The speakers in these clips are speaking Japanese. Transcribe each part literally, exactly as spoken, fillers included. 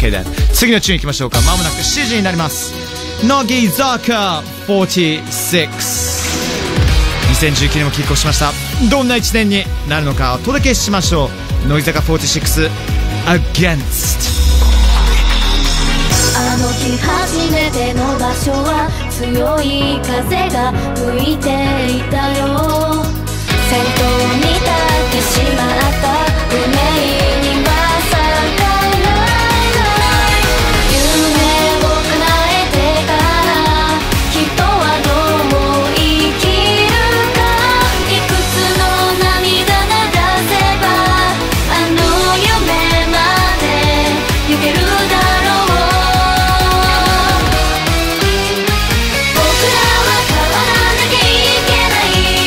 OK で次のチューンいきましょうか。まもなくしちじになります。乃木坂よんじゅうろく、にせんじゅうきゅうねんもキックオフしました。どんないちねんになるのかお届けしましょう。乃木坂よんじゅうろく Against。 あの日初めての場所は強い風が吹いていたよ。先頭に立ってしまった運命には逆らえない。夢を叶えてから人はどう生きるか。いくつの涙が出せばあの夢まで行けるだろう。僕らは変わらなきゃいけない。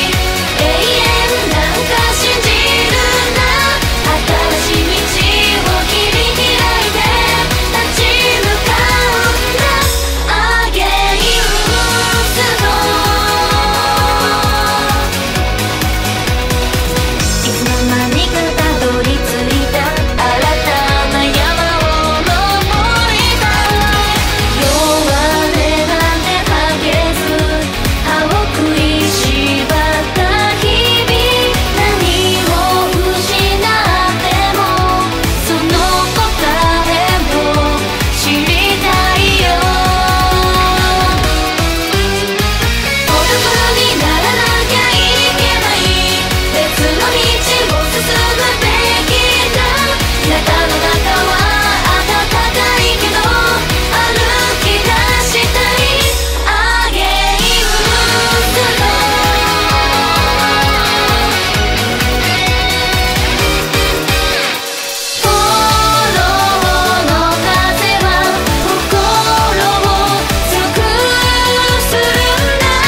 永遠なんか信じるな。新しい道を切り開いて立ち向かうんだ。アゲインスト。いつの間にかたどり着いた新たな山を登りたい。弱音なんて吐けず歯を食いしばった日々。何を失ってもその答えを知りたいよ。孤独にならなきゃいけない。別の道を進むべきだ。中の中は暖かいけど歩き出したい。アゲインスト。フォローの風は心を強くするんだ。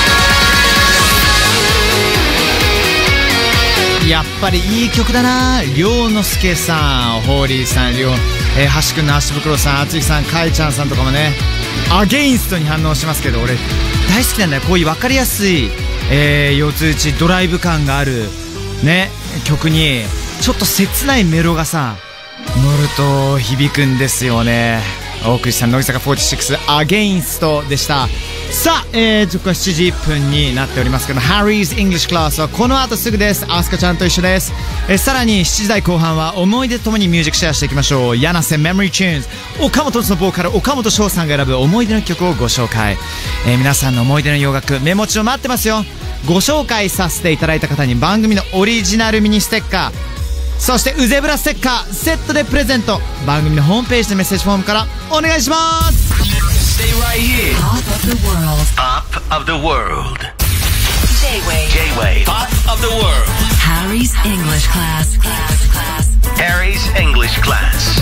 やっぱりいい曲だな。涼之介さん、ホーリーさん、りょう、えー、橋くんの橋袋さん、あつきさん、かいちゃんさんとかもねアゲインストに反応しますけど、俺大好きなんだよ。こういう分かりやすい、えー、四つ打ちドライブ感があるね曲にちょっと切ないメロがさ乗ると響くんですよね。お送りした乃木坂よんじゅうろくアゲインストでした。さあ、えー、時刻はしちじいっぷんになっておりますけど、Harry's English Class はこの後すぐです。アスカちゃんと一緒です。えー、さらにしちじ台後半は思い出ともにミュージックシェアしていきましょう。柳瀬 Memory Tunes、 岡本のボーカル岡本翔さんが選ぶ思い出の曲をご紹介。えー、皆さんの思い出の洋楽メモ帳待ってますよ。ご紹介させていただいた方に番組のオリジナルミニステッカー、そしてウゼブラステッカーセットでプレゼント。番組のホームページのメッセージフォームからお願いします。 Stay right here. Top of the world. Top of the world. J-Wave. J-Wave. Top of the world. Harry's English class. Harry's English class.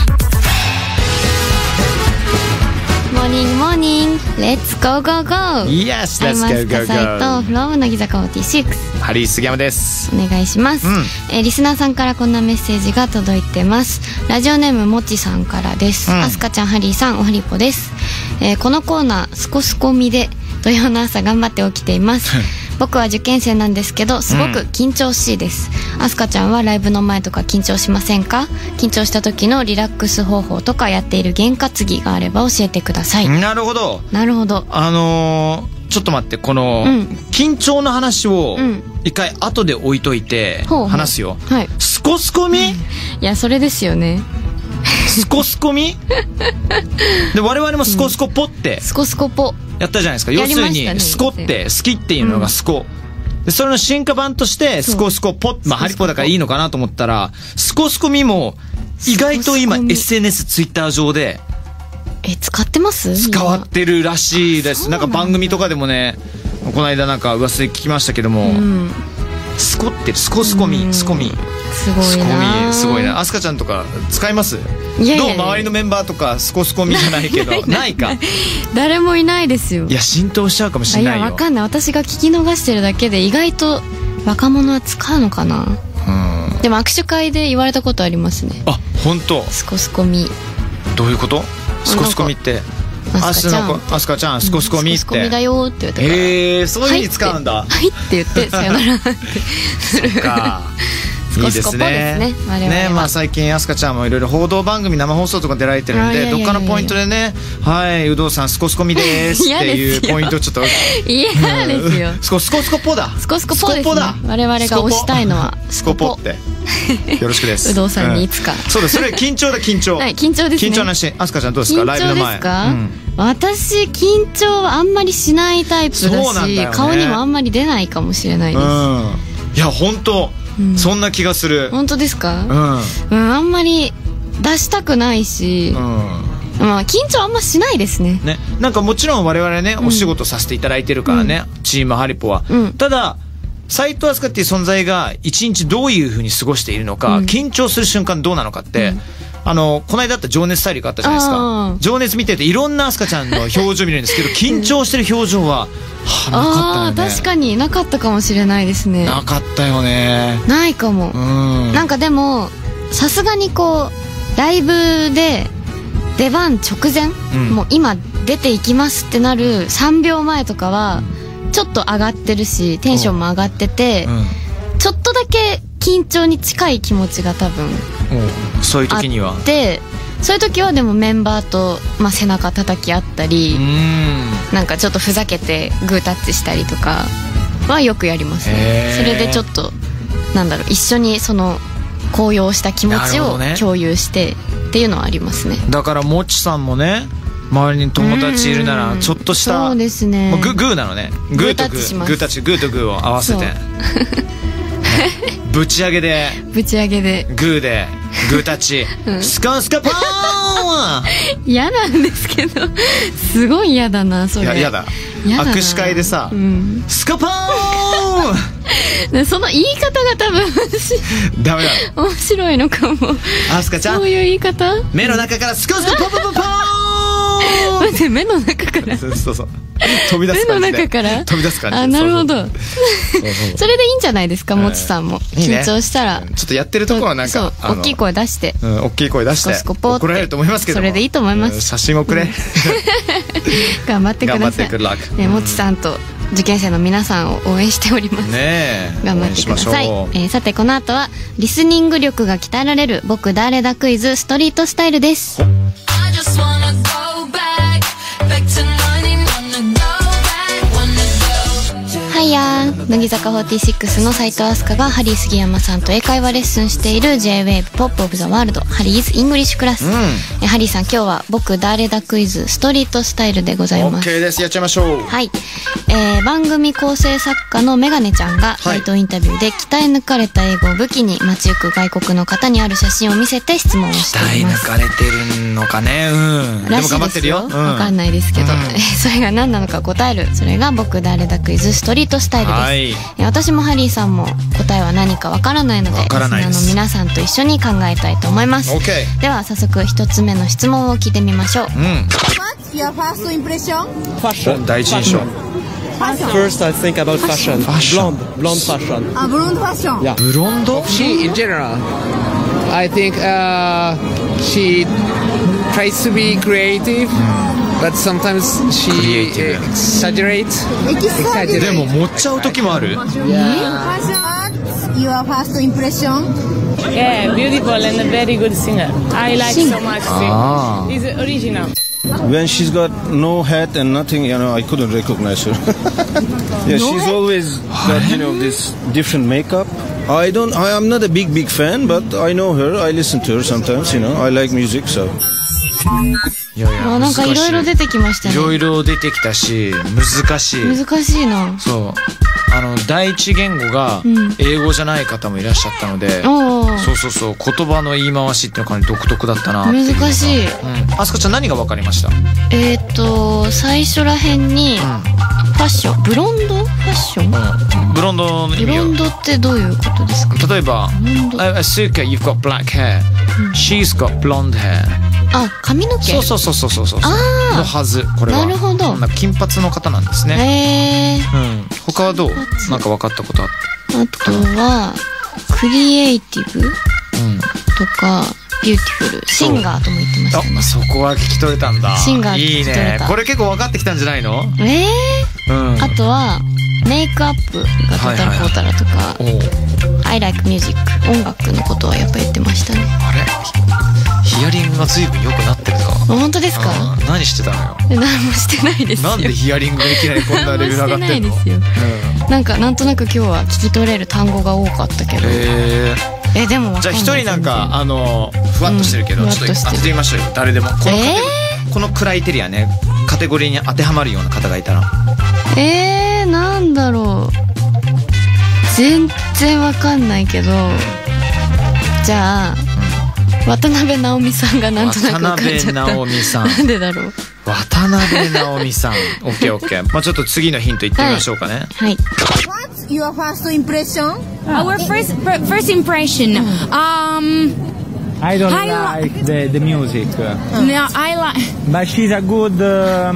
モーニングモーニング、レッツゴーゴーゴー。 Yes, let's アイマ go ス go カサイと go。 フロム乃木坂よんじゅうろく、 ハリー杉山です。 お願いします、 うんえーリスナーさんからこんなメッセージが届いてます。ラジオネームもちさんからです。 うんあすかちゃん、ハリーさん、おはりぽです、えーこのコーナースコスコミで土曜の朝頑張って起きています僕は受験生なんですけどすごく緊張しいです。あすかちゃんはライブの前とか緊張しませんか？緊張した時のリラックス方法とかやっている験担ぎがあれば教えてください。 なるほど。 なるほど。 あのー、ちょっと待って、この、 うん緊張の話をうん一回後で置いといてほうほう話すよ。 はい。 スコスコミ、 いやそれですよね。 スコスコミで我々もスコスコポってスコスコポ。 やったじゃないですか。 や要するりましたねにスコって好きっていうのがスコ、でそれの進化版としてスコスコポ、まあハリポだからいいのかなと思ったら、スコスコミも意外と今スコスコミエスエヌエス ツイッター上でえ使ってます？ 使わってるらしいです。 そうなんんだなか番組とかでもね、この間なんか噂で聞きましたけども、 うんスコってる、スコスコミ、スコミ、 すごいスコな。 ミ、すごいな。アスカちゃんとか使います？ いやいやいやどう周りのメンバーとかスコスコミじゃないけどないか。 誰もいないですよ。 いや浸透しちゃうかもしあいれないよ。 やわかんない。私が聞き逃してるだけで意外と若者は使うのかな。 うん。 でも握手会で言われたことありますね。 あ、本当。 スコスコミ。 どういうこと？スコスコミって。 アスカちゃんアスカちゃんスコスコミって。 スコスコミだよって言われたから。 へえ、そういう風に使うんだ。 はいって言ってさよならってする。 そっか。 いいですね。 ね、我々はね、まあ最近アスカちゃんもいろいろ報道番組生放送とか出られてるんで、どっかのポイントでね、はい有働さんスコスコミですっていうポイントをちょっと嫌ですよ。 スコスコスコポだ。 スコスコポですね。我々が推したいのはスコポって。よろしくです。 有働さんにいつか。 そうです。それ緊張だ緊張。 はい、緊張ですね。 緊張なし。アスカちゃんどうですか？ライブの前。緊張ですか？ 私緊張はあんまりしないタイプだし、顔にもあんまり出ないかもしれないです。 いや本当。うん、そんな気がする。 本当ですか？うん、うん、あんまり出したくないし、うん、まあ緊張あんましないですね。 ね、なんかもちろん我々ね、うん、お仕事させていただいてるからね、うん、チームハリポは、うん、ただ斉藤飛鳥っていう存在が一日どういうふうに過ごしているのか、うん、緊張する瞬間どうなのかって、うん、あのこの間あった情熱大陸あったじゃないですか。情熱見てていろんな飛鳥ちゃんの表情見るんですけど緊張してる表情は、はあ、なかったよね。 あ、確かになかったかもしれないですね。 なかったよね。 ないかも。うん、なんかでもさすがにこうライブで出番直前、うん、もう今出ていきますってなるさんびょうまえとかはちょっと上がってるしテンションも上がってて、うん、ちょっとだけ緊張に近い気持ちが多分そういう時にはあってそういう時はでもメンバーと、まあ、背中叩き合ったり、うん、なんかちょっとふざけてグータッチしたりとかはよくやりますね。それでちょっとなんだろう一緒にその高揚した気持ちを共有してっていうのはありますね。 だからもちさんもね周りに友達いるならちょっとしたそうですね、 グーなのね、グーとグーグータッチグーとグーを合わせてぶち上げでぶち上げでグーでグータッチ、うん、スカスカパーン嫌なんですけどすごい嫌だなそれ。いや嫌だ。握手会でさ、うん、スカパーンその言い方が多分ダメだ。 面白いのかも。 アスカちゃんそういう言い方目の中からスカスカパパパパーン待って目の中からそうそうそう飛び出す感じで目の中から飛び出す感じで。 あ、なるほど。それでいいんじゃないですか、もちさんも緊張したらちょっとやってるところはなんか大きい声出して大きい声出して怒られると思いますけどそれでいいと思います。 写真をくれ頑張ってください。もちさんと受験生の皆さんを応援しております。 ね頑張ってください。えー、さてこの後はリスニング力が鍛えられる僕誰だクイズストリートスタイルです。はいやー、乃木坂フォーティーシックスの斉藤飛鳥がハリー杉山さんと英会話レッスンしている ジェイウェーブ Pop of the World ハリーズイングリッシュクラス、うん、えハリーさん今日は僕誰だクイズストリートスタイルでございます。 OK です。やっちゃいましょう。 はい、えー、番組構成作家のメガネちゃんが街頭インタビューで鍛え抜かれた英語を武器に街行く外国の方にある写真を見せて質問をしています。 鍛え抜かれてるのかね。うんでも頑張ってるよ。 わ、うん、かんないですけど、うん、それが何なのか答える。それが僕誰だクイズストリートスタイルです。はい、私もハリーさんも答えは何かわからないのでリスナーの皆さんと一緒に考えたいと思います。 OK では早速一つ目の質問を聞いてみましょう。うん、 What's your first impression? Fashion. 第一印象。 First, I think about fashion. Fashion. Blonde, blonde fashion. A blonde fashion. Yeah. Blonde? She, in general, I think uh, she tries to be creative, but sometimes she exaggerates. Exaggerate. でも持っちゃう時もある。 Yeah. Your first impression? Yeah, beautiful and a very good singer. I like so much. Ah. It's original. When she's got no hat and nothing, you know, I couldn't recognize her. Yeah, no she's hat? always got, you know, this different makeup. I don't, I am not a big, big fan, but I know her. I listen to her sometimes, you know. I like music, so. いやいやなんかいろいろ出てきましたね。 いろいろ出てきたし難しい。 難しいな。 そうあの第一言語が英語じゃない方もいらっしゃったので、うん、そうそうそう言葉の言い回しっていうのが独特だったなっていうのが。 難しい。 うん、あすかちゃん何が分かりました？ えっと最初らへんに、うん、ファッションブロンドファッション、 うん、ブロンドの意味はブロンドってどういうことですか？ 例えばスーカ you've got black hair、うん、she's got blonde hair。 あ、髪の毛。 そうそうそうそうそうそうあのはず。これはなるほど。 金髪の方なんですね。へー、うん、他はどう？なんか分かったことあった？ あとはクリエイティブ、うん、とかビューティフルシンガーとも言ってましたね。 あ、そこは聞き取れたんだ。 シンガー聞き取れた。 いいね。これ結構分かってきたんじゃないの？ えー、うん、あとはメイクアップがトータルコータラとか、はいはい、ア I like music 音楽のことはやっぱ言ってましたね。 あれヒアリングが随分良くなってるか。 本当ですか？ 何してたのよ。 何もしてないですよ。 なんでヒアリングがいきなりこんなレベル上がってんの？ 何もしてないですよ、うん、なんかなんとなく今日は聞き取れる単語が多かったけど。 へえでも分かんない。 じゃあ一人なんかあのふわっとしてるけど、うん、ちょっと当ててみましょうよ。誰でもこのカテ、えー、このクライテリアね、カテゴリーに当てはまるような方がいたら。 えー、なんだろう、全然わかんないけど、じゃあ、うん、渡辺直美さんがなんとなくわかっちゃった。渡辺直美さんなんでだろう。 渡辺直美さんオッケーオッケー。まあちょっと次のヒントいってみましょうかね。 はい、はい。 What's your first impression? Our first first impression. Um, I don't I like the the music. No, I like. But she's a good. Uh,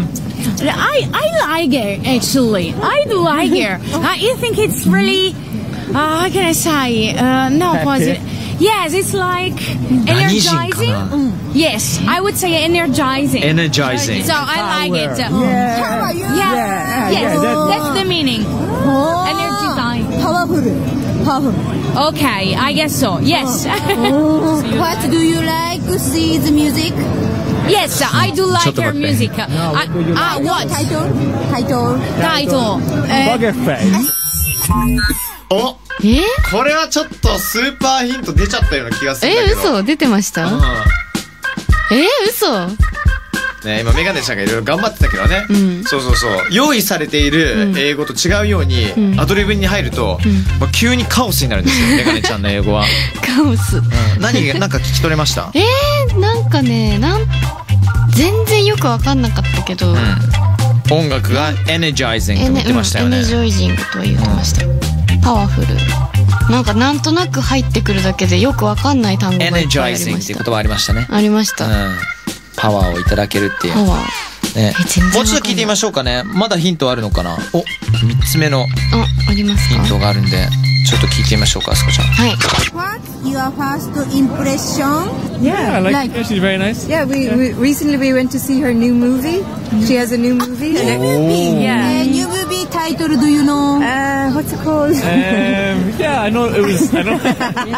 I I like her actually. I do like her. I think it's really. Uh, how can I say? Uh, no positive. Yes, it's like energizing. Mm. Yes, I would say energizing. Energizing. So I like it. Yeah. How about you? Yeah. Yeah. Yes, Yeah, that's, that's the meaning. Oh. Energizing. Powerful. Powerful. Okay, I guess so. Yes. Oh. What do you like? See the music? Yes, I do like her music. No, I, what do you ah, like? what? Title? Title? Title. Poker Face. お、 えこれはちょっとスーパーヒント出ちゃったような気がするんだけど。 え嘘出てました？ うん、 え嘘ね、今メガネちゃんがいろいろ頑張ってたけどね、うん、そうそうそう、用意されている英語と違うように、うん、アドリブに入ると、うんまあ、急にカオスになるんですよメガネちゃんの英語は。 カオス、うん、 何がなんか聞き取れました？ えー、なんかねなん全然よく分かんなかったけど、うん、 音楽がエネジャイジングと言ってましたよね。 エネジャイジングとは言ってました、うん、パワフル、なんかなんとなく入ってくるだけでよくわかんない単語がいっぱいありました。エネジャイジングっていう言葉ありましたね。ありました、うん、 パワーをいただけるっていうパワー、ね、もうちょっと聞いてみましょうかね。まだヒントあるのかな。お、みっつめのあ、ありますか。 ヒントがあるんでちょっと聞いてみましょうか、あすこちゃん。 はい。 What's your first impression? Yeah, I like, like yeah, she's very nice. Yeah, we, we recently we went to see her new movie. She has a new movie. New movie? Yeah. Uh, new movie title, do you know? Uh, what's it called? um, yeah, I know it was. I know. um,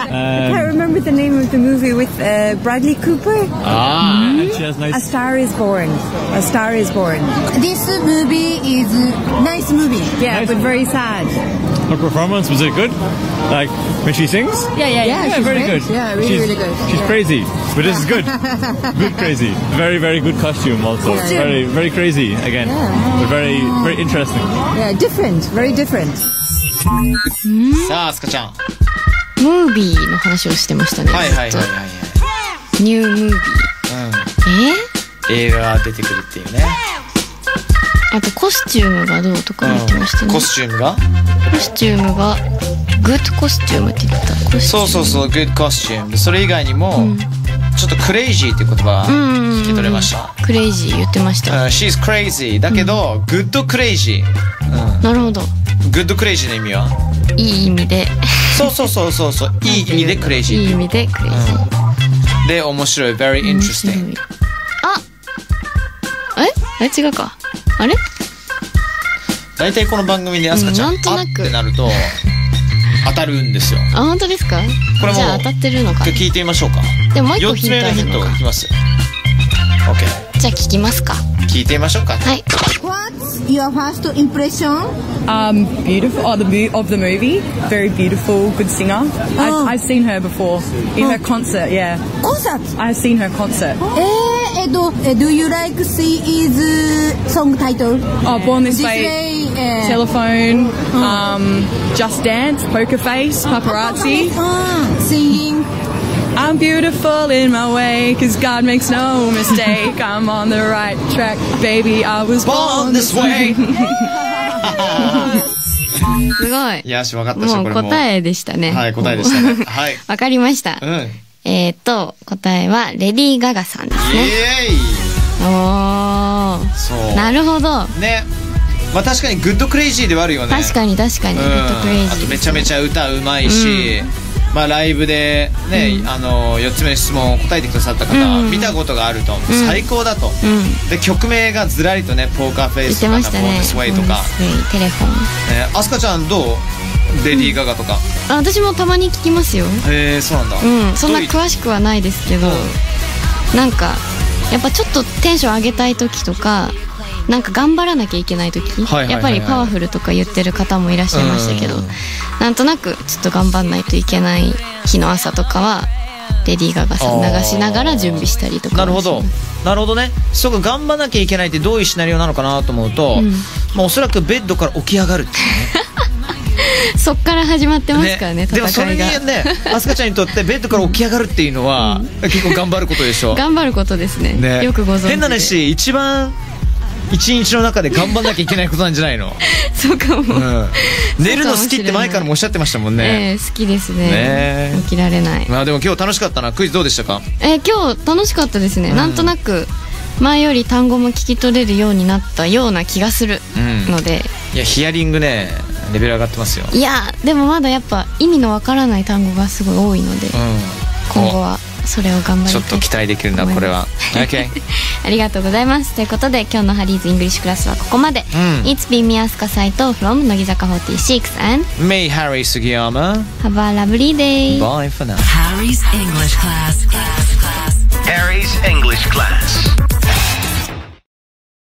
I can't remember the name of the movie with uh, Bradley Cooper. Ah, mm-hmm. And she has nice. A Star Is Born. A Star Is Born. This movie is nice movie. Yeah, nice. But very sad. Her performance, was it good? Like when she sings? Yeah, yeah, yeah. Yeah, very great. good. Yeah, really, she's, really good. She's yeah. crazy, but this is good. Good crazy. Very, very good costume also. Costume. Very, very crazy again. Yeah. But very, very interesting. Yeah, different. Very different. さあ、あすかちゃん。 ムービーの話をしてましたね。 はいはいはいはい。 ニュームービー。うん。え？ 映画が出てくるっていうね。 あとコスチュームがどうとか言ってましたね、うん、 コスチュームがコスチュームがグッドコスチュームって言った。 そうそうそう、グッドコスチューム。それ以外にも、うん、ちょっとクレイジーっていう言葉聞き取れました。 クレイジー言ってました、 uh, She's crazy だけど、うん、グッドクレイジー、うん、 なるほど。 グッドクレイジーの意味はいい意味でそうそうそうそうそう、いい意味でクレイジー、 いい意味でクレイジー、 うん、で面白い very interesting。 あえあれ違うか。あれ大体この番組であすかちゃん、うん、なんとなくあってなると当たるんですよ。 あ、本当ですか。これもじゃあ当たってるのか。 聞いてみましょうか。 でももう一個ヒントあるのか。よっつめのヒントいきますよ。 OK。 じゃあ聞きますか。 聞いてみましょうか。 はい。 What's your first impression? Um, beautiful. Oh, the of the movie. Very beautiful, good singer. Oh. I've, I've seen her before in oh. her concert. Yeah. Concert. I've seen her concert. Eh, eh, do, eh, do you like see is uh, song title? Oh, Born This, this Way. way uh, Telephone. Oh. Um, Just Dance. Poker Face. Paparazzi. Oh, singing. I'm beautiful in my way, 'cause God makes no mistake. I'm on the right track, baby. I was born this way. すごい。 いやし、わかったし、これももう答えでしたね。 はい、答えでしたね。はい。 わかりました。 うん。 えっと、答えは、レディー・ガガさんですね。 イエーイ。 おー。 そう。 なるほど。 ね。まあ確かにグッドクレイジーではあるよね。 確かに確かに、グッドクレイジー。 あとめちゃめちゃ歌うまいし、うん、まあライブでね、うん、あのよっつめの質問を答えてくださった方、うん、見たことがあると、うん、最高だと、うん、で曲名がずらりとね、ポーカーフェイスとか、ボーナスウェイとか、 テレフォン。 あすかちゃんどう？ レディー・ガガとか。 あ、私もたまに聞きますよ。 へえ、そうなんだ。 うん、そんな詳しくはないですけど、なんかやっぱちょっとテンション上げたい時とか、なんか頑張らなきゃいけない時、やっぱりパワフルとか言ってる方もいらっしゃいましたけど、なんとなくちょっと頑張んないといけない日の朝とかはレディー・ガガさん流しながら準備したりとか。 なるほどなるほどね。そうか、頑張らなきゃいけないってどういうシナリオなのかなと思うと、うん、まあ、おそらくベッドから起き上がるっていうねそっから始まってますからね、 ね、戦いが。でもそれにね、アスカちゃんにとってベッドから起き上がるっていうのは、うん、結構頑張ることでしょ。 頑張ることです ね, ねよくご存知で。 変な話、一番一日の中で頑張んなきゃいけないことなんじゃないのそうかも、うん、 寝るの好きって前からもおっしゃってましたもんね。 えー、好きです ね, ね起きられない。 まあでも今日楽しかったな。クイズどうでしたか？ えー、今日楽しかったですね、うん、なんとなく前より単語も聞き取れるようになったような気がするので、 うん、いやヒアリングねレベル上がってますよ。 いやでもまだやっぱ意味のわからない単語がすごい多いので、うん、今後はそれを頑張りたい。 ちょっと期待できるなこれは。OK ありがとうございます。ということで今日のハリーズイングリッシュクラスはここまで、うん、It's been me アスカサイト from 乃木坂フォーティーシックス and Me Harry Sugiyama. Have a lovely day. Bye for now. Harry's English class.